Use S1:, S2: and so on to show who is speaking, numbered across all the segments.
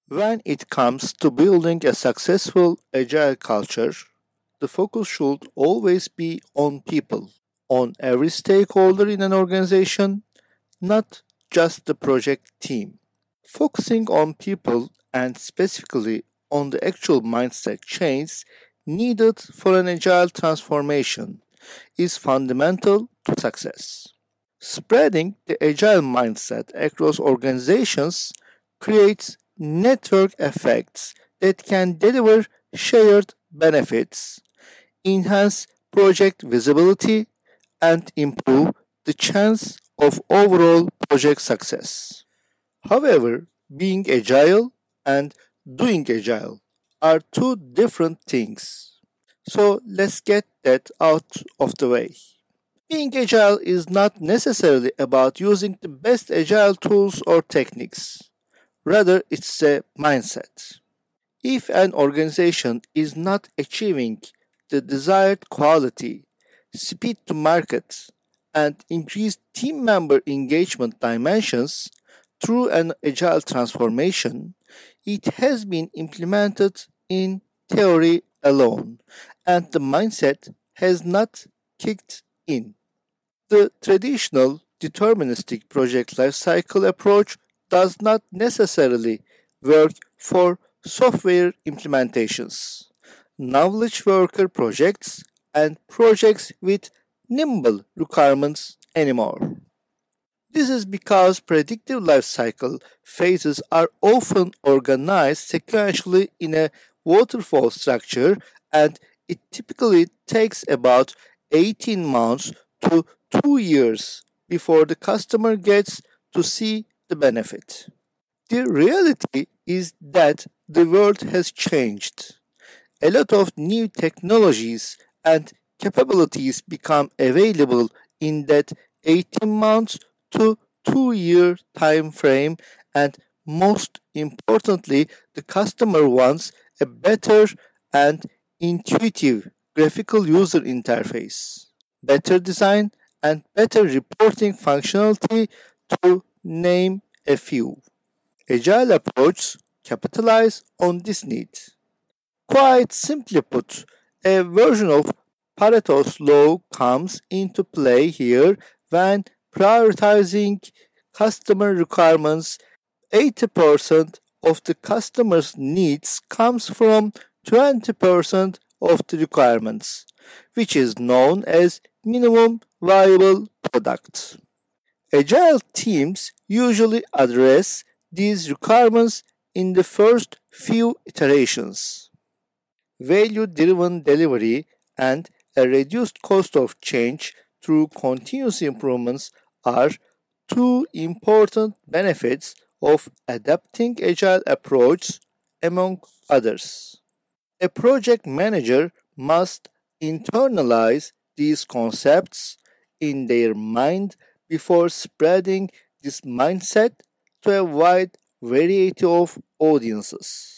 S1: When it comes to building a successful agile culture, the focus should always be on people, on every stakeholder in an organization, not just the project team. Focusing on people and specifically on the actual mindset change needed for an agile transformation is fundamental to success. Spreading the agile mindset across organizations creates network effects that can deliver shared benefits, enhance project visibility, and improve the chance of overall project success. However, being agile and doing agile are two different things. So let's get that out of the way. Being agile is not necessarily about using the best agile tools or techniques. Rather, it's a mindset. If an organization is not achieving the desired quality, speed to market, and increased team member engagement dimensions through an agile transformation, it has been implemented in theory alone, and the mindset has not kicked in. The traditional deterministic project lifecycle approach does not necessarily work for software implementations, knowledge worker projects, and projects with nimble requirements anymore. This is because predictive lifecycle phases are often organized sequentially in a waterfall structure, and it typically takes about 18 months to 2 years before the customer gets to see the benefit. The reality is that the world has changed. A lot of new technologies and capabilities become available in that 18 months to 2-year time frame, and most importantly, the customer wants a better and intuitive graphical user interface, better design, and better reporting functionality, to name a few. Agile approaches capitalize on this need. Quite simply put, a version of Pareto's law comes into play here when prioritizing customer requirements. 80% of the customer's needs comes from 20% of the requirements, which is known as minimum viable product. Agile teams usually address these requirements in the first few iterations. Value driven delivery and a reduced cost of change through continuous improvements are two important benefits of adapting agile approach among others. A project manager must internalize these concepts in their mind before spreading this mindset to a wide variety of audiences.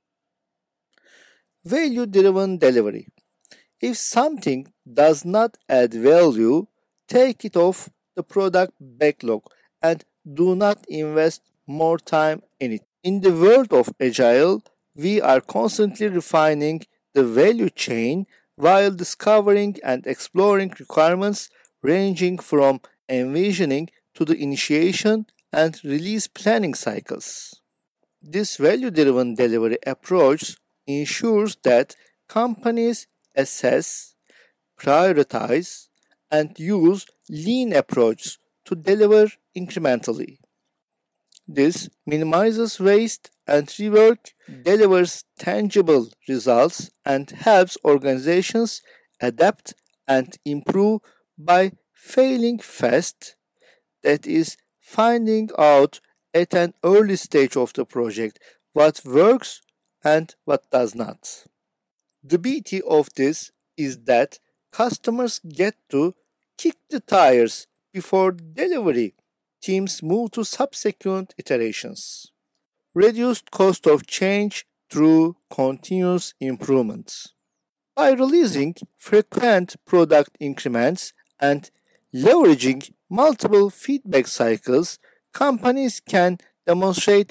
S1: Value driven delivery. If something does not add value, take it off the product backlog and do not invest more time in it. In the world of Agile, we are constantly refining the value chain while discovering and exploring requirements ranging from envisioning to the initiation and release planning cycles. This value driven delivery approach ensures that companies assess, prioritize, and use lean approaches to deliver incrementally. This minimizes waste and rework, delivers tangible results, and helps organizations adapt and improve by failing fast, that is, finding out at an early stage of the project what works and what does not. The beauty of this is that customers get to kick the tires before delivery. Teams move to subsequent iterations. Reduced cost of change through continuous improvements. By releasing frequent product increments and leveraging multiple feedback cycles, companies can demonstrate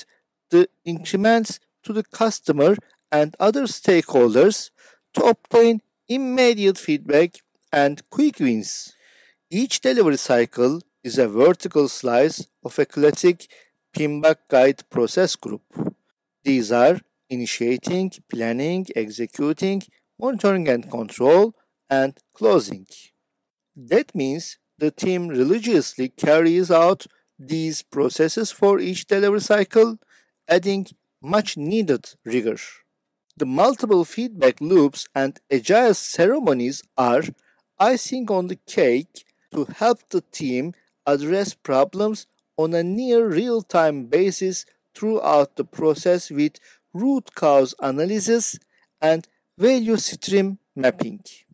S1: the increments to the customer and other stakeholders to obtain immediate feedback and quick wins. Each delivery cycle is a vertical slice of a classic PMBOK guide process group. These are initiating, planning, executing, monitoring and control, and closing. That means the team religiously carries out these processes for each delivery cycle, adding much needed rigor. The multiple feedback loops and agile ceremonies are icing on the cake to help the team address problems on a near real time basis throughout the process with root cause analysis and value stream mapping.